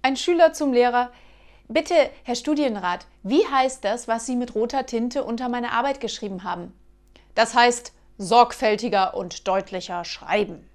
Ein Schüler zum Lehrer: Bitte, Herr Studienrat, wie heißt das, was Sie mit roter Tinte unter meine Arbeit geschrieben haben? Das heißt sorgfältiger und deutlicher schreiben.